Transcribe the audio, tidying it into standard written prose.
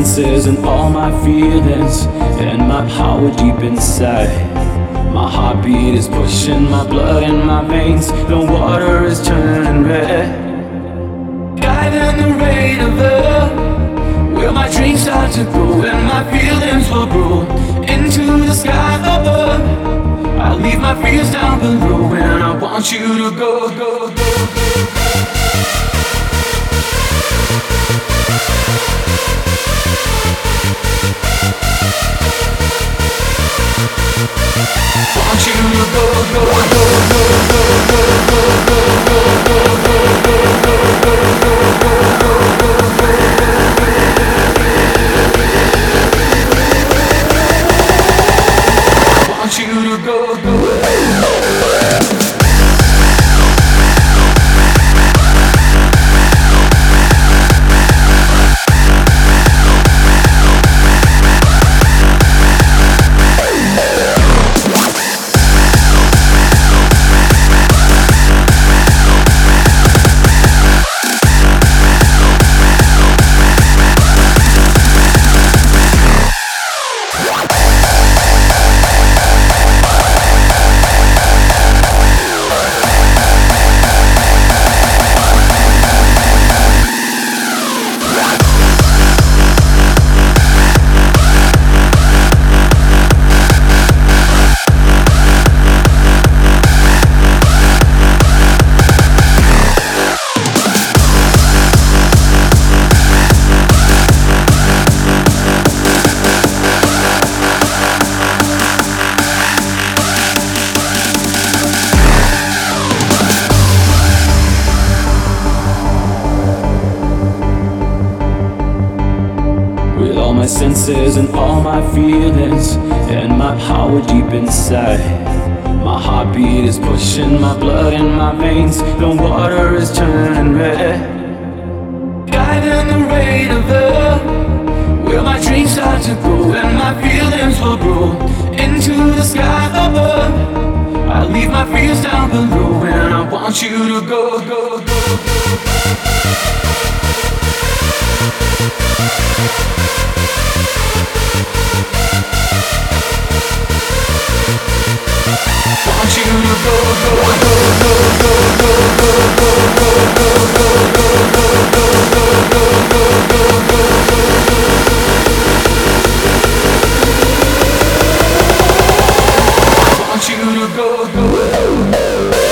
senses and all my feelings and my power deep inside. My heartbeat is pushing my blood in my veins. The water is turning red. Guiding the rain of love, where my dreams start to grow and my feelings will grow into the sky above. I'll leave my fears down below and I want you to go, go, go, go. Want you to go, go, go, go, go, go, go, go, go, go, go, want you to go, go. With all my senses and all my feelings and my power deep inside. My heartbeat is pushing my blood in my veins. The water is turning red. Guiding the rain of love, where my dreams start to grow and my feelings will grow into the sky above. I'll leave my fears down below and I want you to go, go, go, go. Want you to go, go, go, go, go, go, go, go, go, go, go, go, go, want you to go, go.